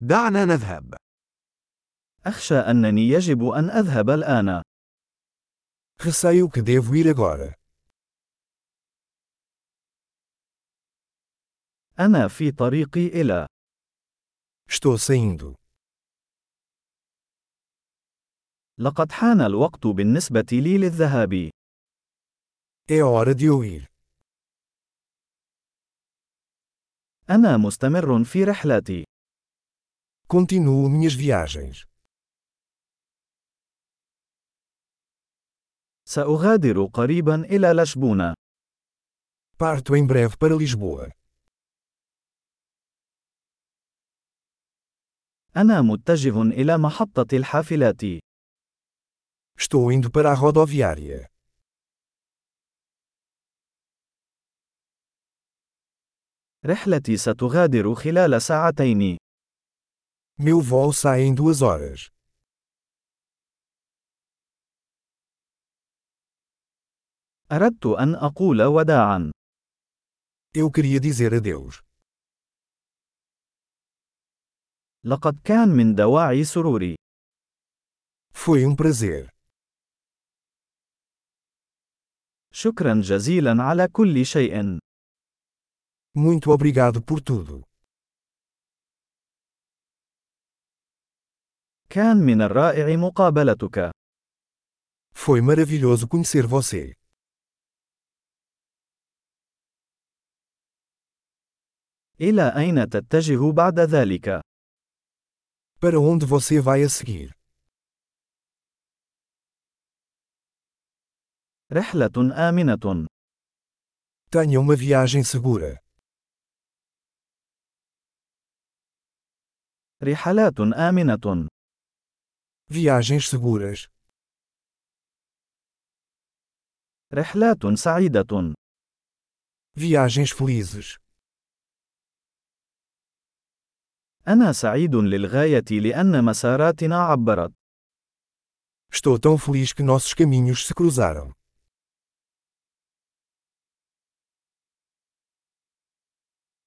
دعنا نذهب. أخشى أنني يجب أن أذهب الآن. Receio que devo ir agora. أنا في طريقي إلى. Estou saindo. لقد حان الوقت بالنسبة لي للذهاب. É hora de eu ir. أنا مستمر في رحلتي. Continuo minhas viagens. سأغادر قريبا إلى لشبونة. Parto em breve para Lisboa. أنا متجه إلى محطة الحافلات. Estou indo para a rodoviária. رحلتي ستغادر خلال ساعتين. Meu voo sai em 2 horas. أردت أن أقول وداعا. Eu queria dizer adeus. لقد كان من دواعي سروري. Foi prazer. شكرا جزيلا على كل شيء. Muito obrigado por tudo. كان من الرائع مقابلتك. Foi maravilhoso conhecer você. إلى أين تتجه بعد ذلك؟ Para onde você vai a seguir? رحلة آمنة. Tenha uma viagem segura. رحلات آمنة. Viagens seguras. رحلات سعيدة. Viagens felizes. أنا سعيد للغاية لأن مساراتنا عبرت. Estou tão feliz que nossos caminhos se cruzaram.